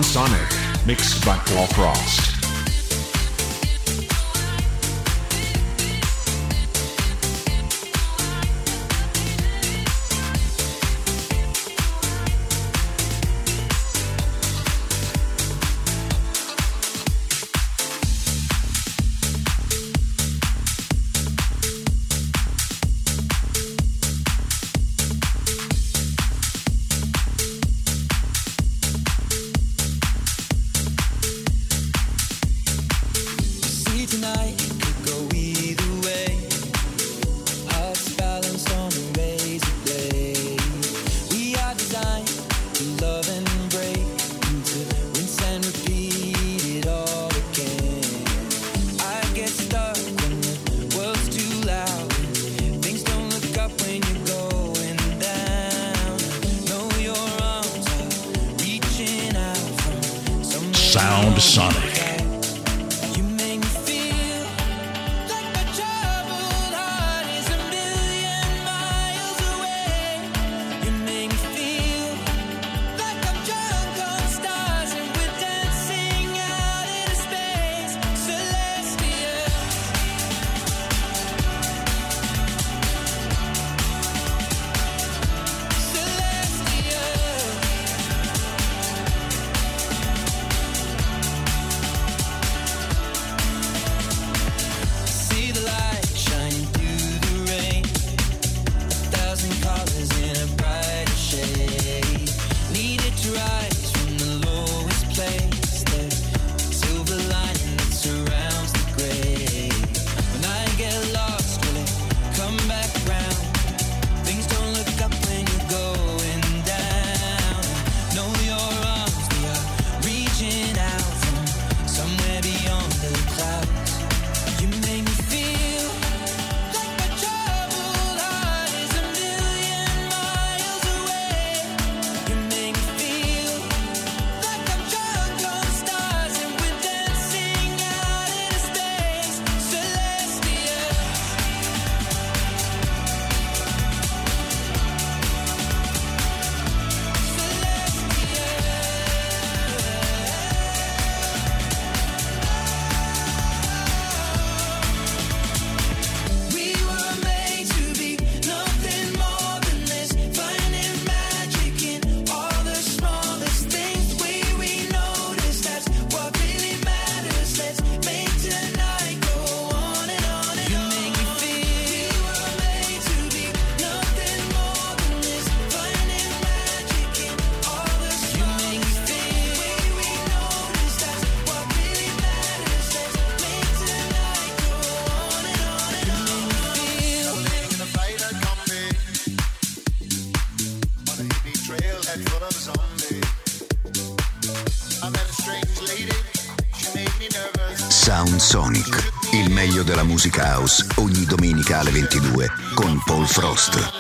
Sonic, mixed by Paul Frost. Sound Sonic. Sound Sonic, il meglio della musica house, ogni domenica alle 22 con Paul Frost.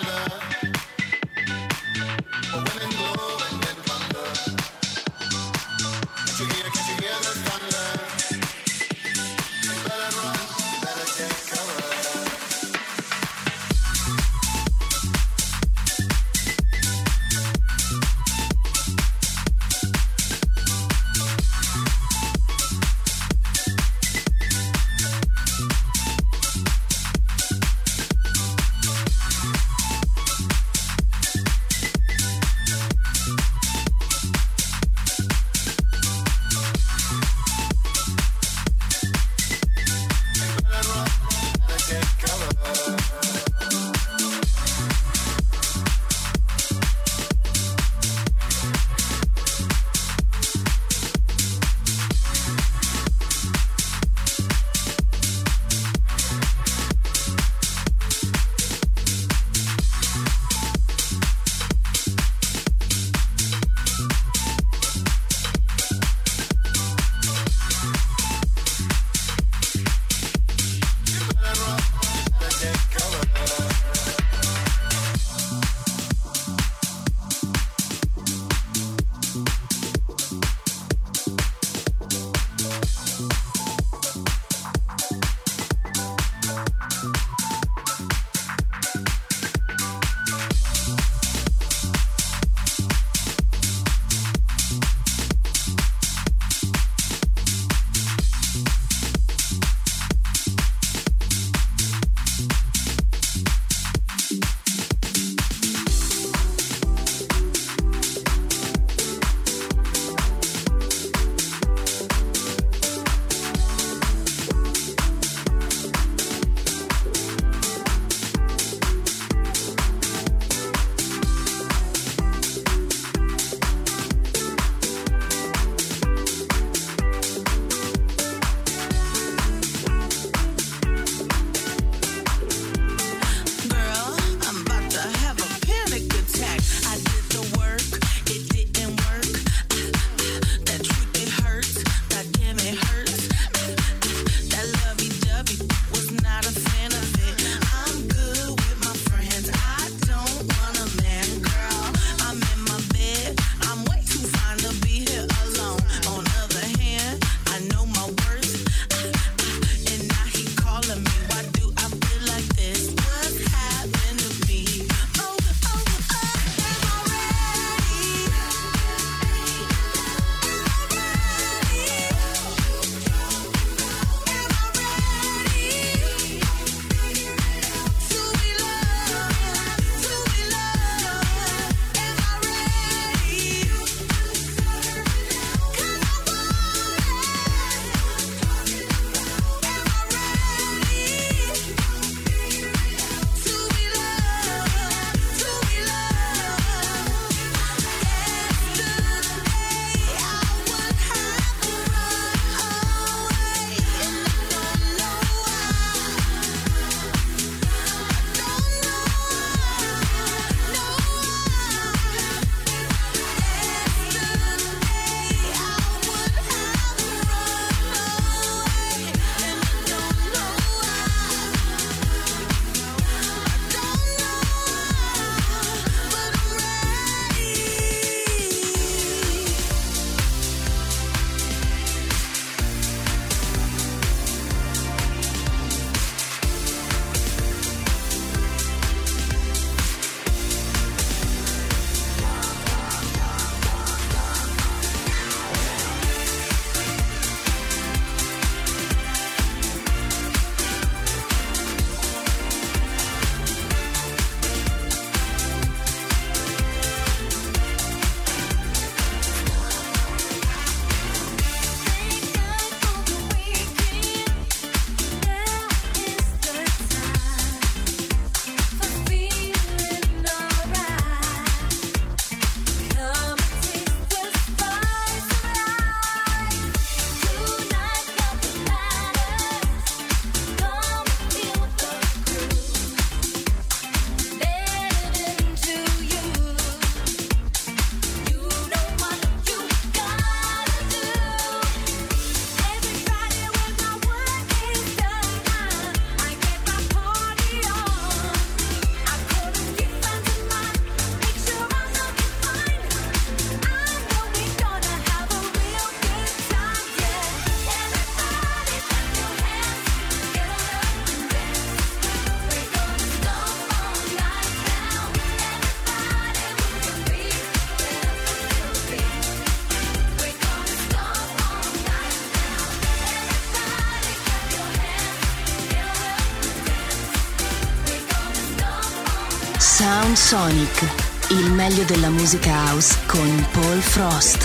Sound Sonic, il meglio della musica house con Paul Frost.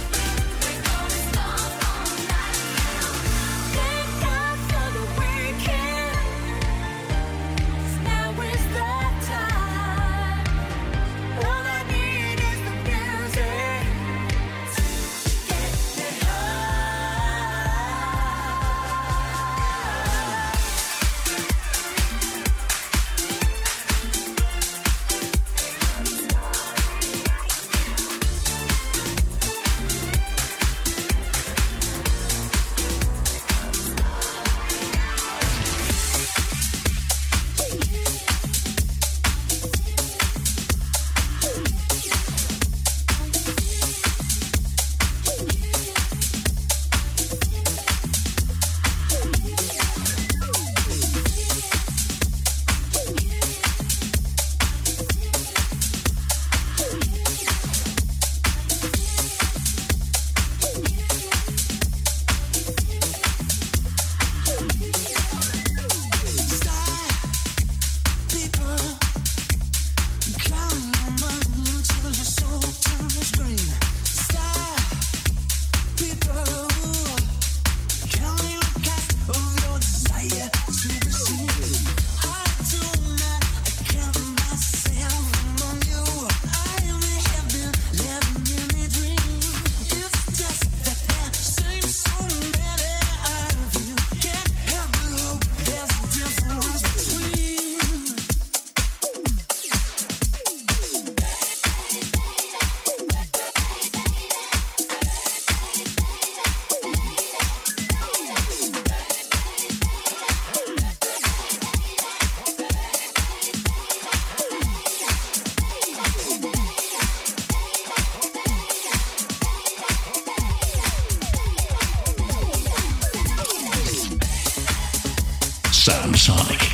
Sound Sonic.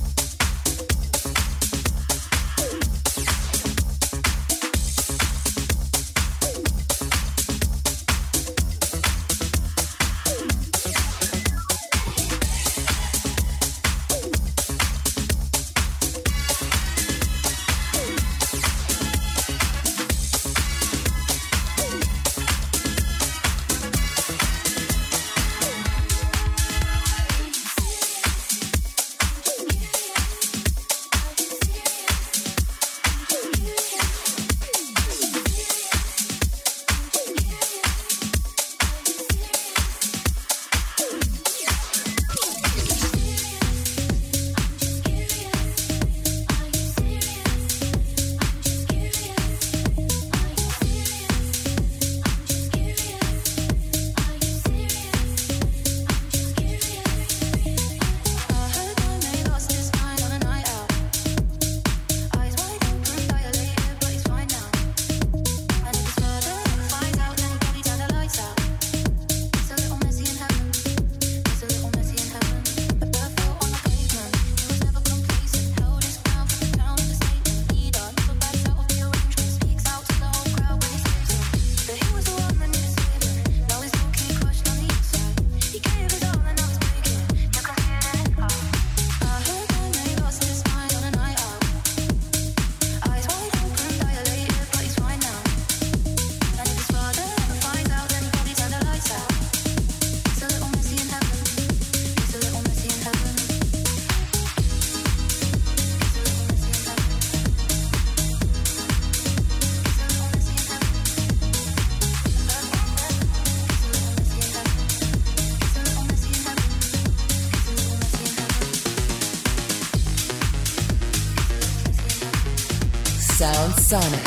Sound Sonic.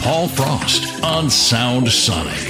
Paul Frost on Sound Sonic.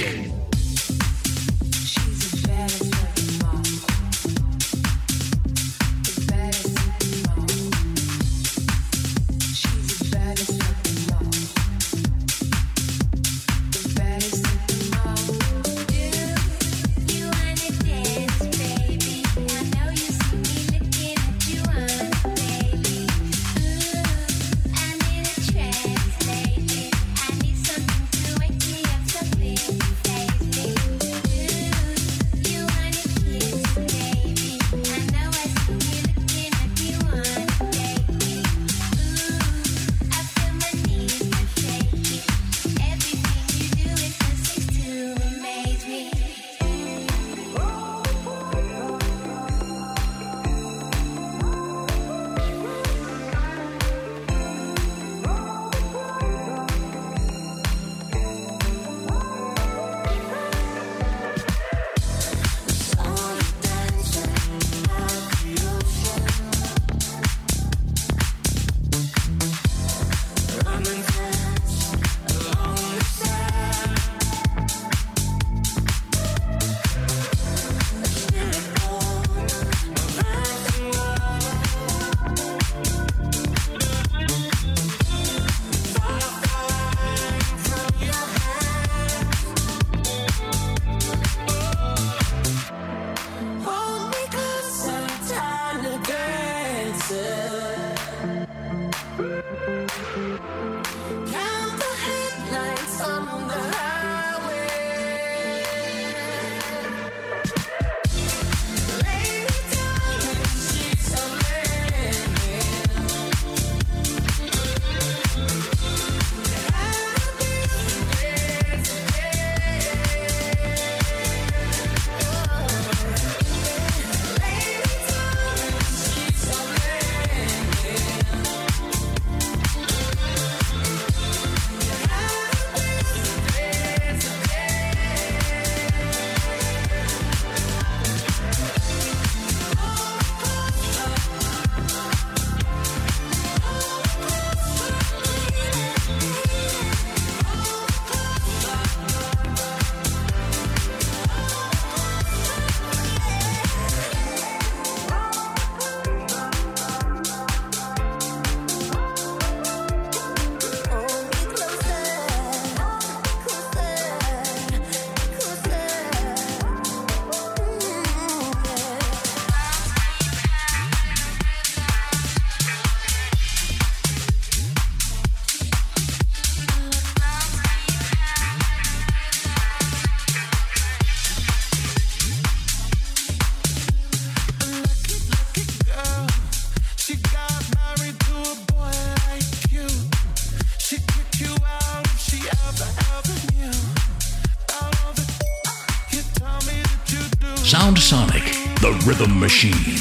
Sound Sonic, the rhythm machine.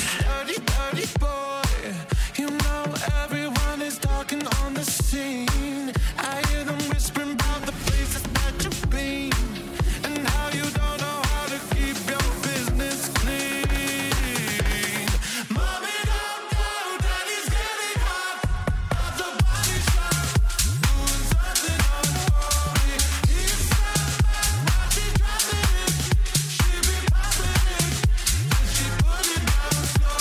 Slow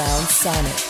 Sound Sonic.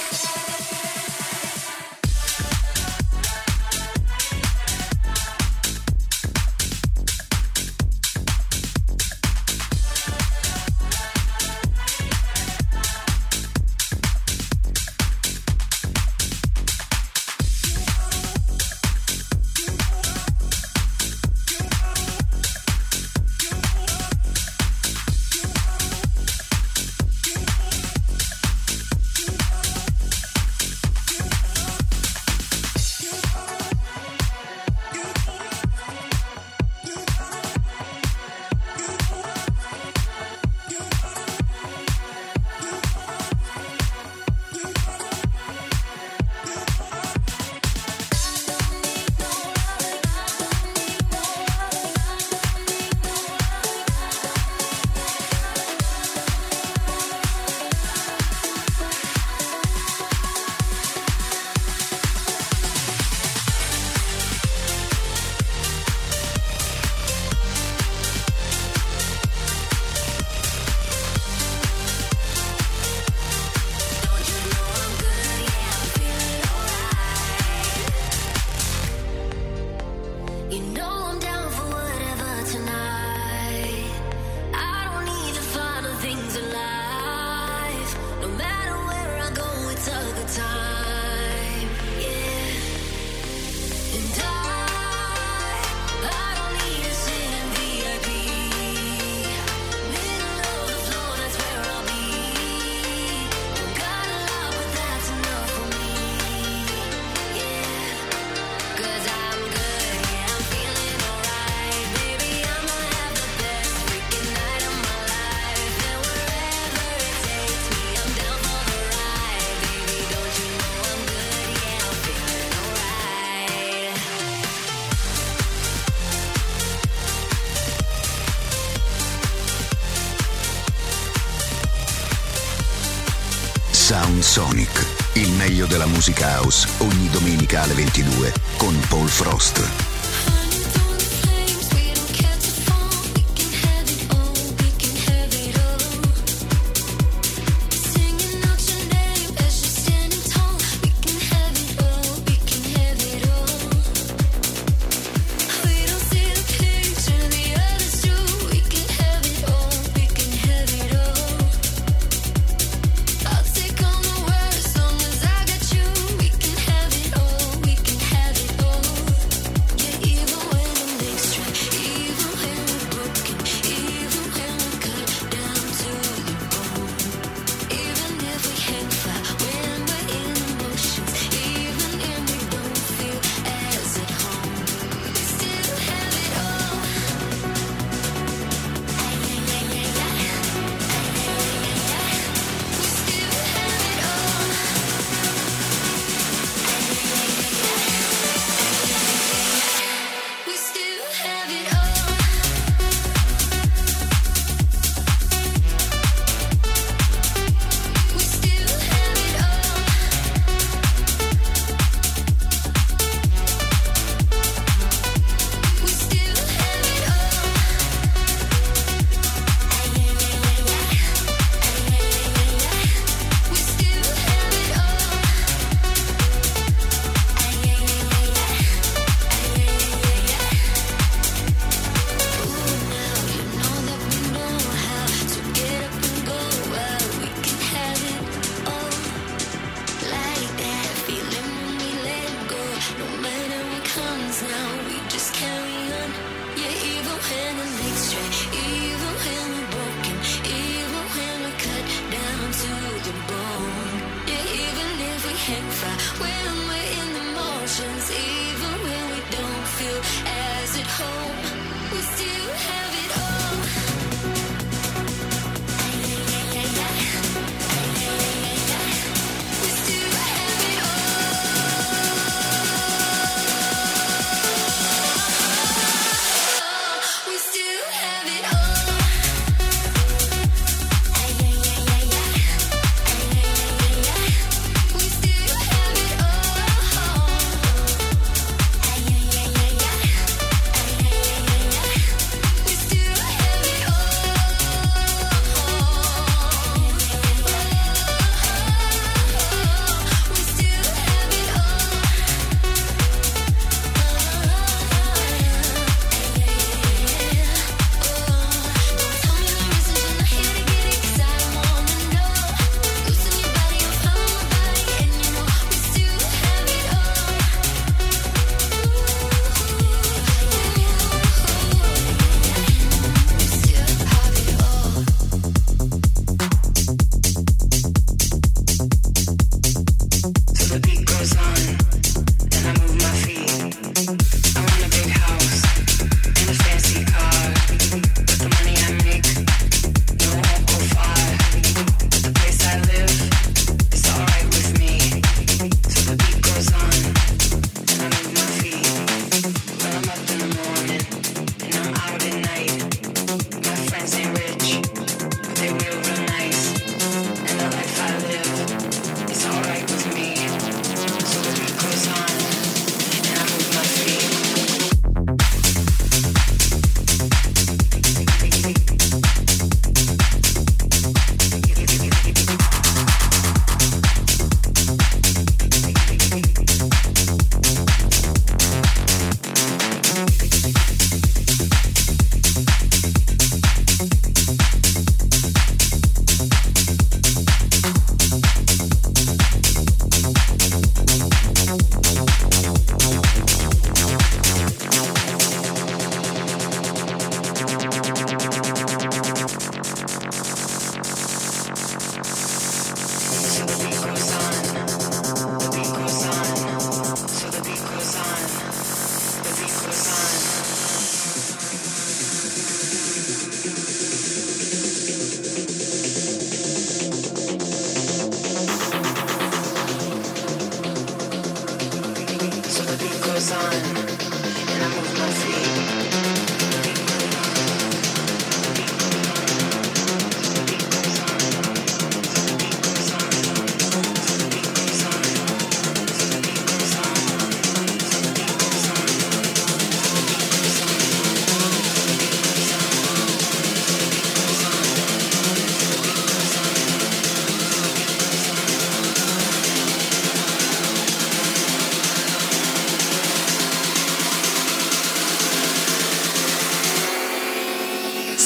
Sound Sonic, il meglio della musica house, ogni domenica alle 22 con Paul Frost.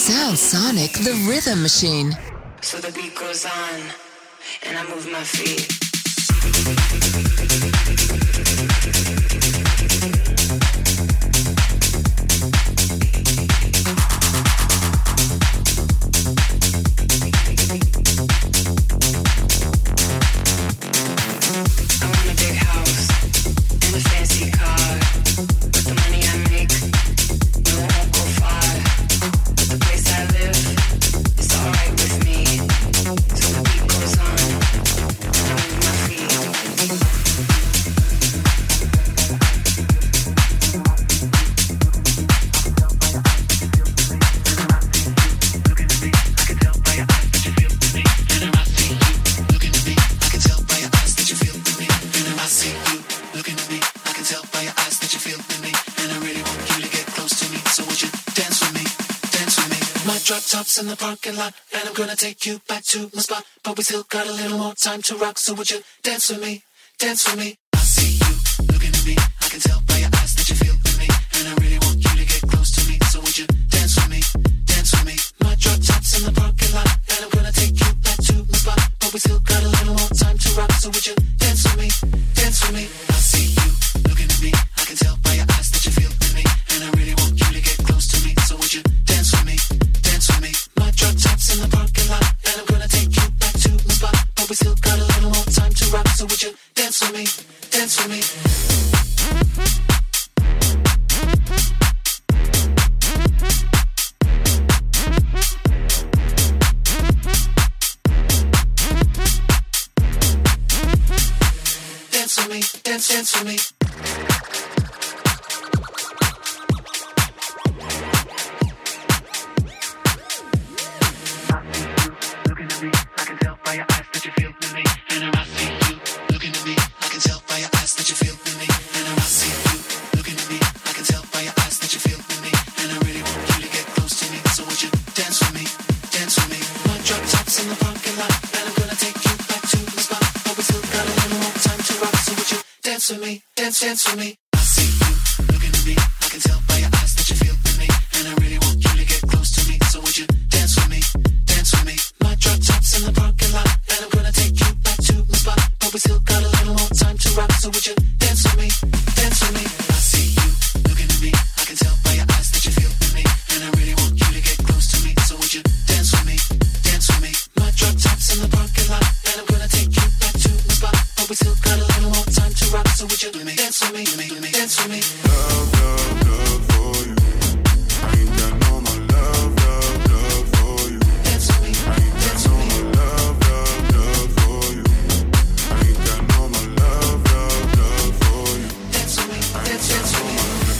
Sound Sonic, the rhythm machine. So the beat goes on, and I move my feet. Tops in the parking lot, and I'm gonna take you back to my spot. But we still got a little more time to rock, so would you dance with me? Dance with me. I see you looking at me, I can tell by your eyes that you feel with me, and I really want you to get close to me, so would you dance with me? Dance with me. My drop tops in the parking lot, and I'm gonna take you back to my spot. But we still got a little more time to rock, so would you dance with me? Dance with me. I see you looking at me, I can tell by your eyes that you feel with me, and I really want you to get close to me, so would you dance with me? Dance with me. My drop tops in the parking lot, and I'm gonna take you back to my spot. But we still got a little more time to rock, so would you dance with me? Dance with me. Dance with me. Dance with me. Dance with me. I see you looking at me. I can tell by your eyes that you feel with me, and I really want you to get close to me. So would you dance with me? Dance with me. My drop tops in the parking lot, and I'm gonna take you back to my spot. But we still got a little more time to rock. So would you dance with me? Dance with me. I see you looking at me. I can tell by your eyes that you feel with me, and I really want you to get close to me. So would you dance with me? Dance with me. My drop tops in the parking lot, and I'm gonna take you back to my spot. But we still got a little more time to rock. So would you do me? Dance with me, dance with me. Love, love, love for you. I ain't got no more love, love, love for you. Dance with me, I ain't got no more love, love, love for you. I ain't got no more love, love, love for you. Dance with me, dance with me.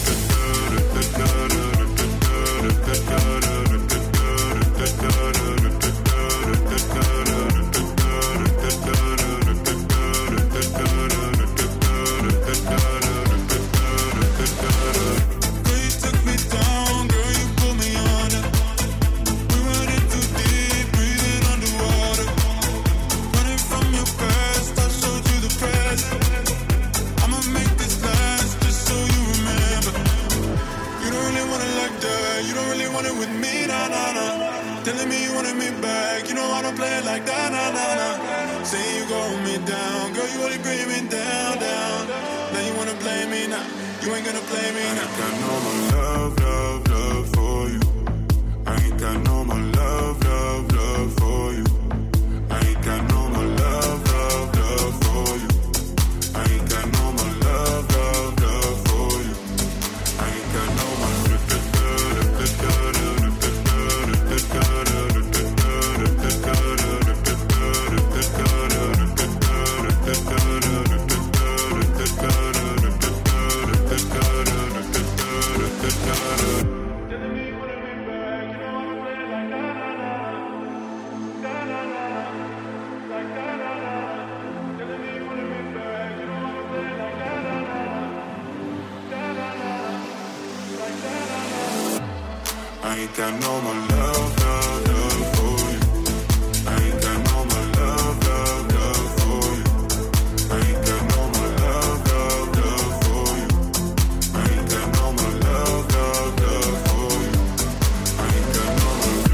I ain't got no more love, love, love for you. I ain't got no more love, love, love for you. I ain't got no more love, love, love for you. I ain't got no more love, love, love for you. I ain't got no more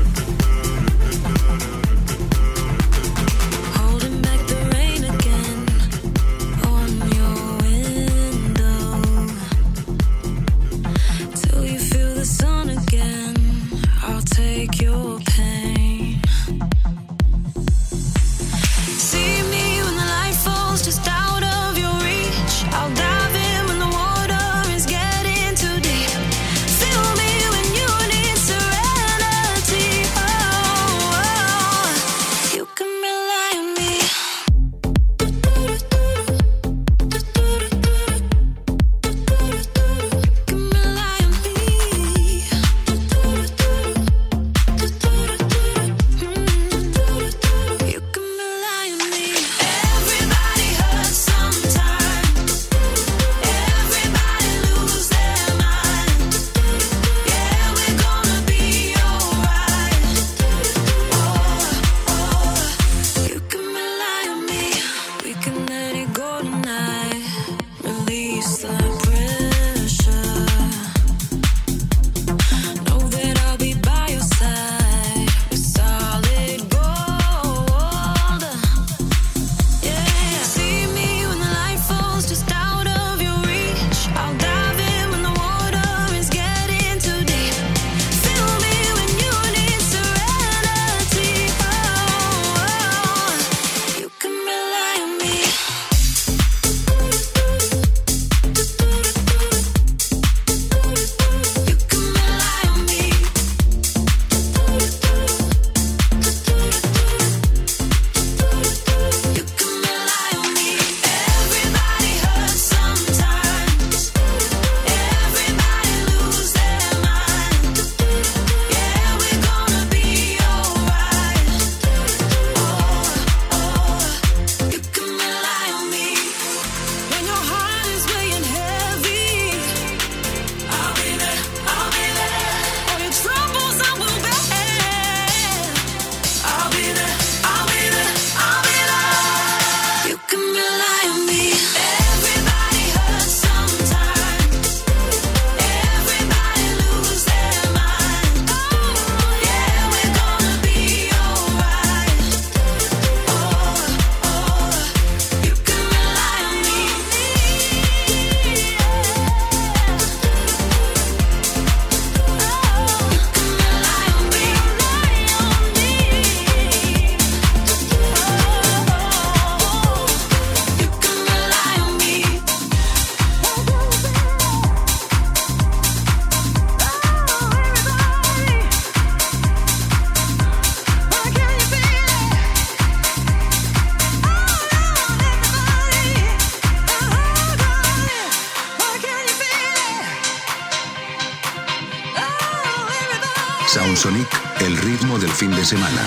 Sound Sonic, el ritmo del fin de semana.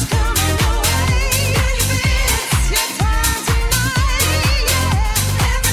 Everybody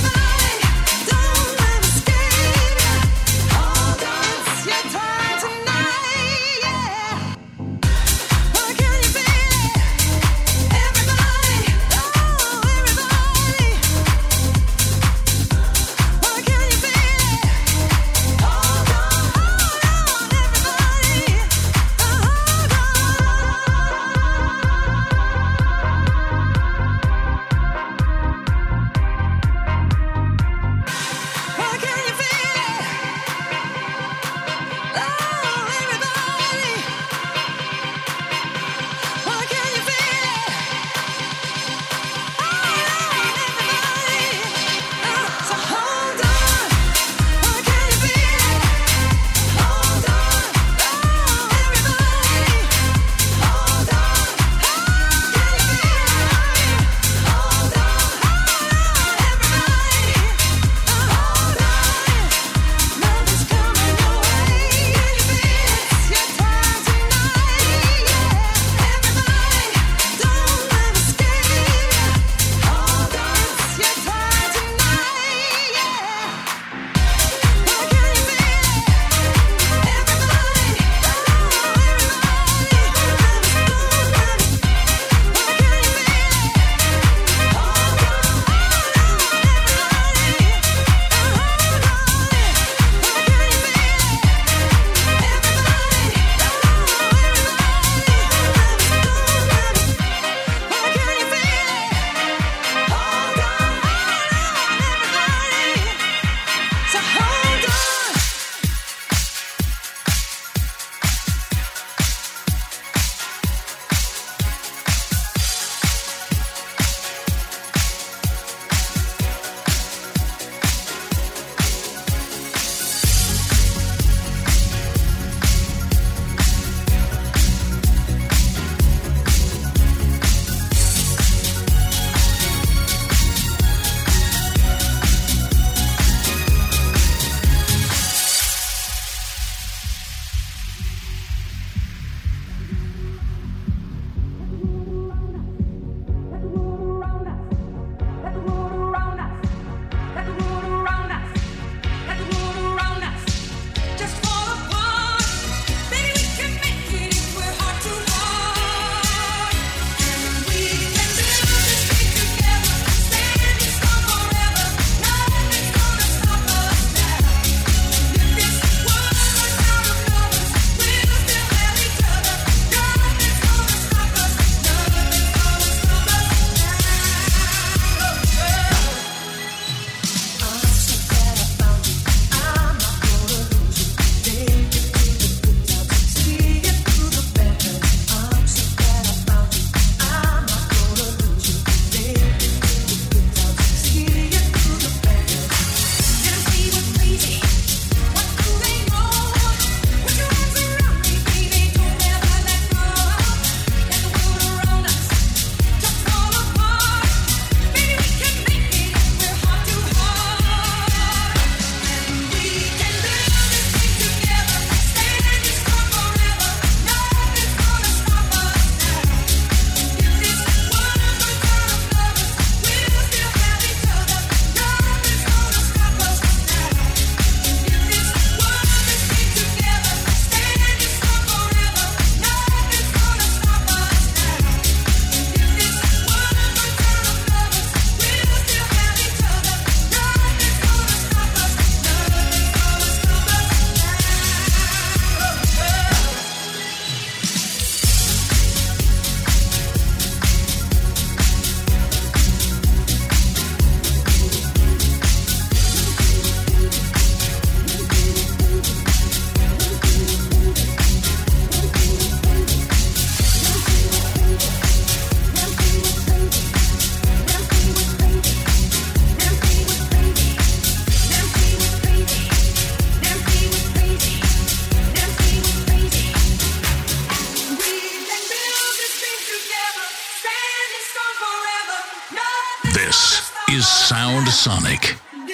This is Sound Sonic.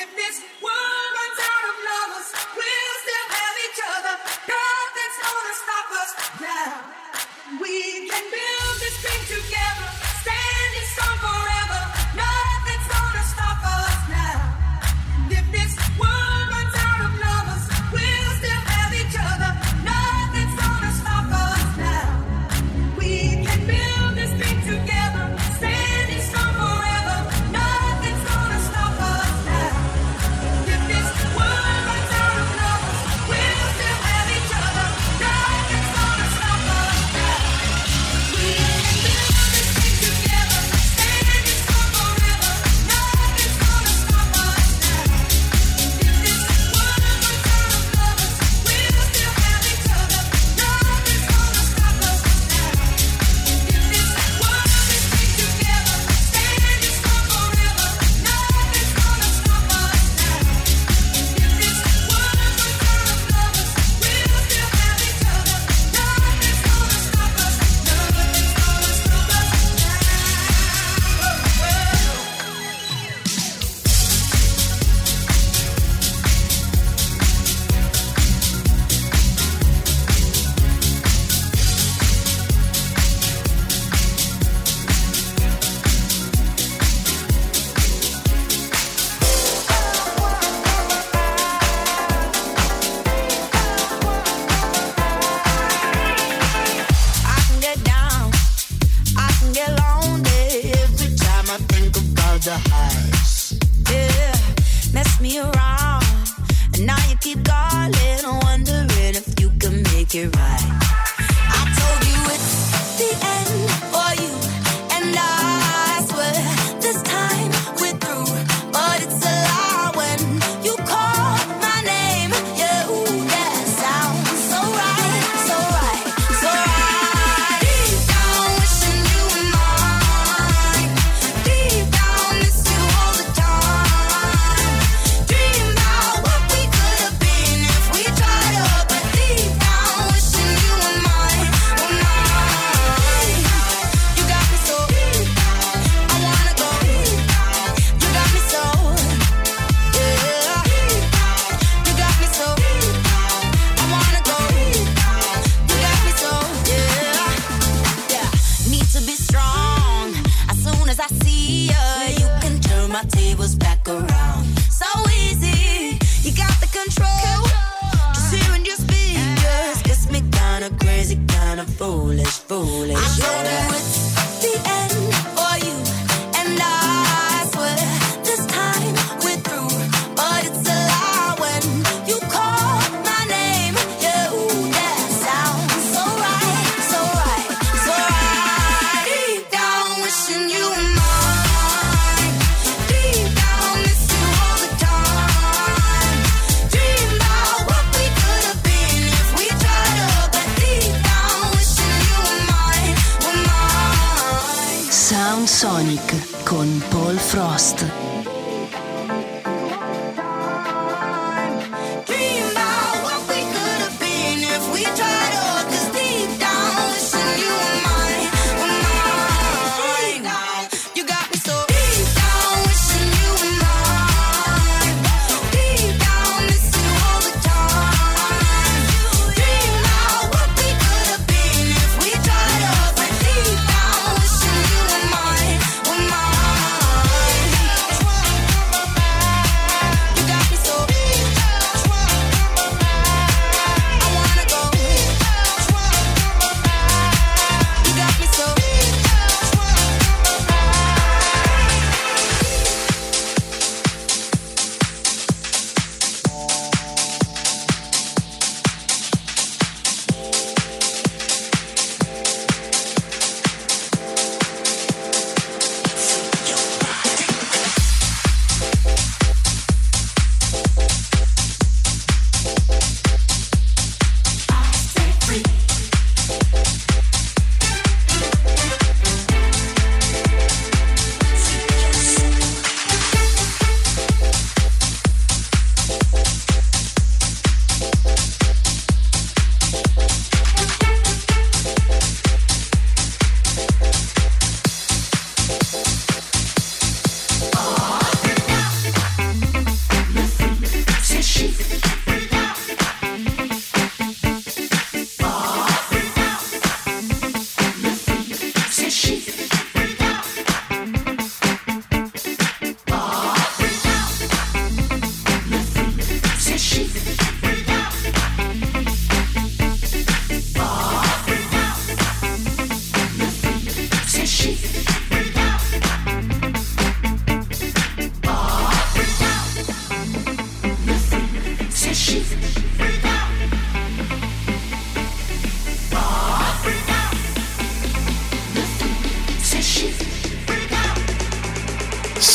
Sonic con Paul Frost.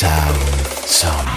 Sound Sonic.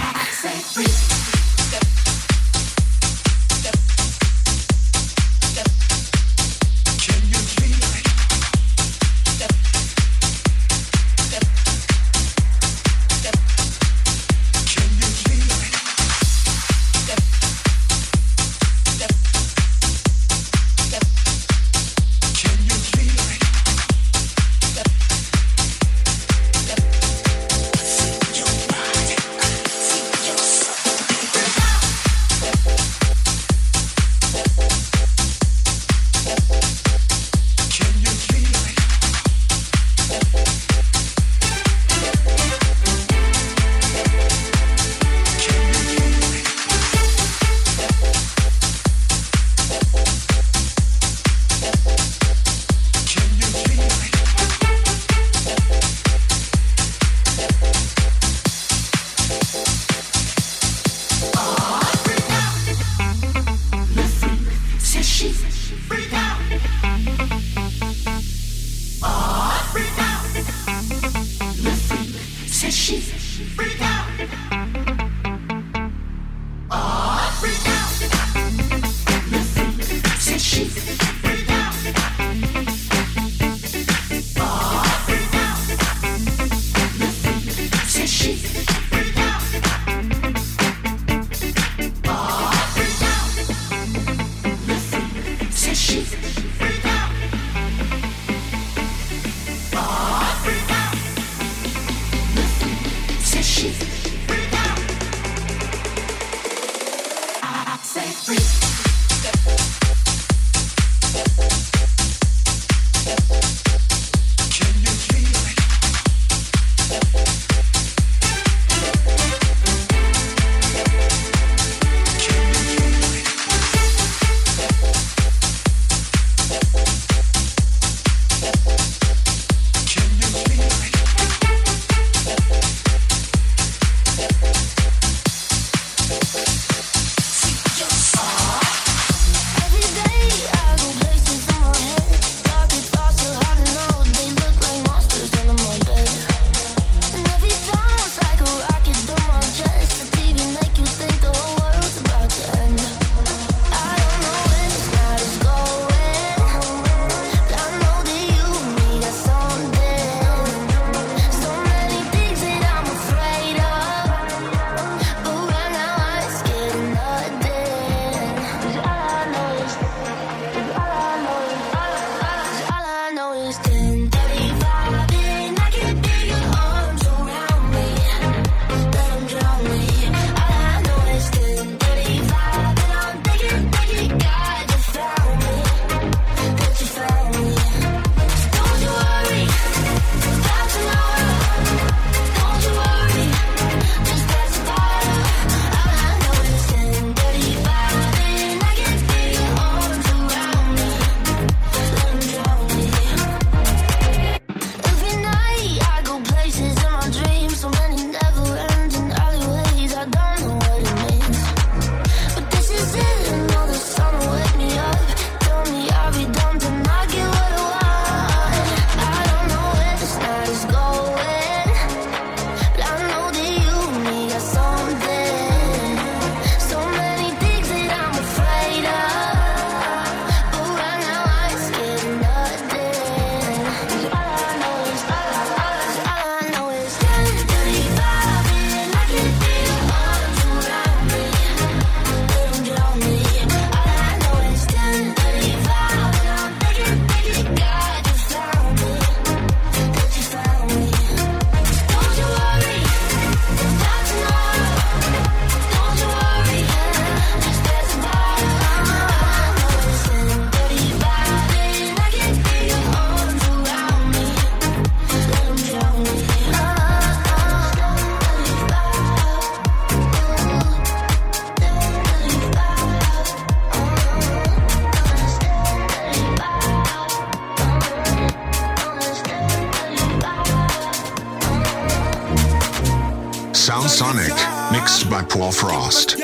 Sound Sonic, mixed by Paul Frost.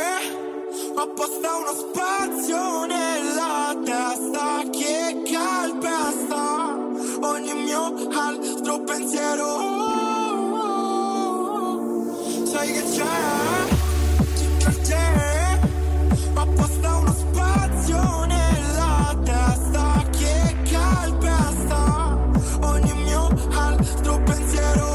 Apposta uno spazio nella testa che calpesta ogni mio altro pensiero. Sai che c'è per te, apposta uno spazio nella testa che calpesta ogni mio altro pensiero.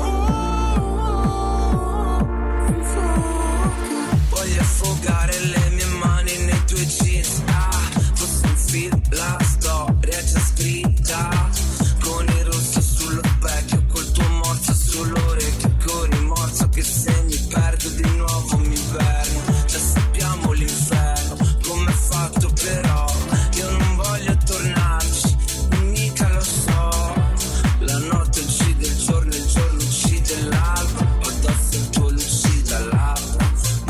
Voglio affogare le mie mani nei tuoi jeans. Fosse un film, la storia è già scritta. Con il rosso sullo specchio, col tuo morso sull'orecchio. Con rimorso che se mi perdo di nuovo mi inverno. Già sappiamo l'inferno, com'è fatto però. Io non voglio tornarci, mica lo so. La notte uccide il giorno uccide l'alba. Addosso il tuo lucida labbra.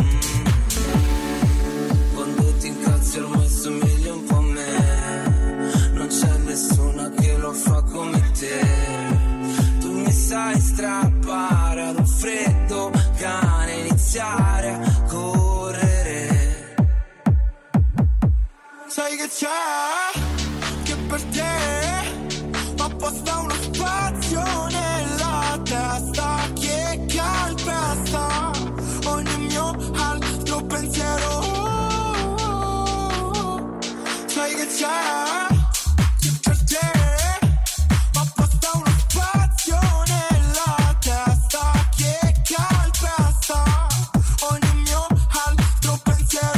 Quando ti incazzi ormai somigli un po' a me. Non c'è nessuna che lo fa come te. Tu mi sai strappare ad un freddo cane, iniziare a correre. Sai che c'è che per te apposta uno spazio nella testa che calpesta ogni mio altro pensiero. Sai che c'è che per te apposta uno spazio nella testa che calpesta ogni mio altro pensiero.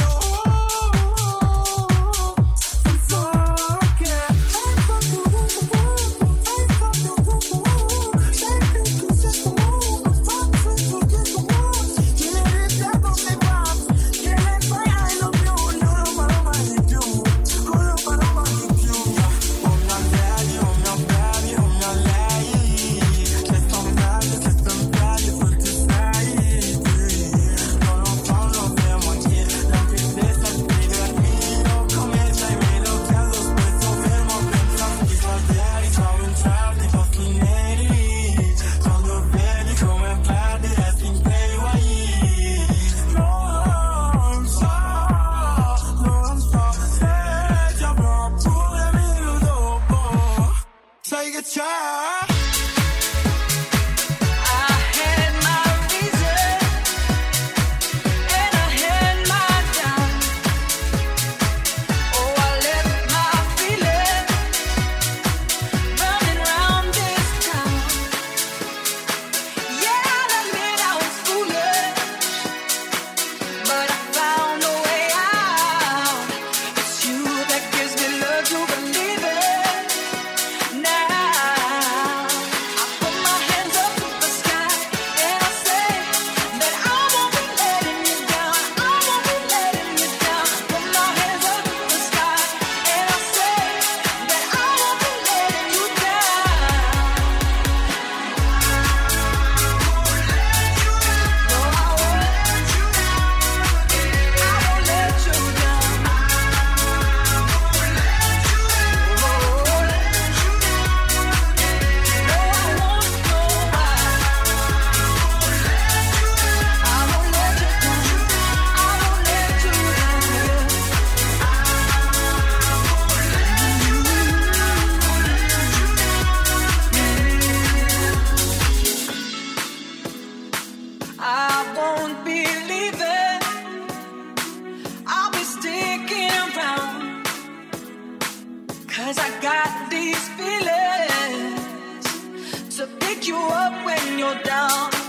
Sai che c'è? you up when you're down.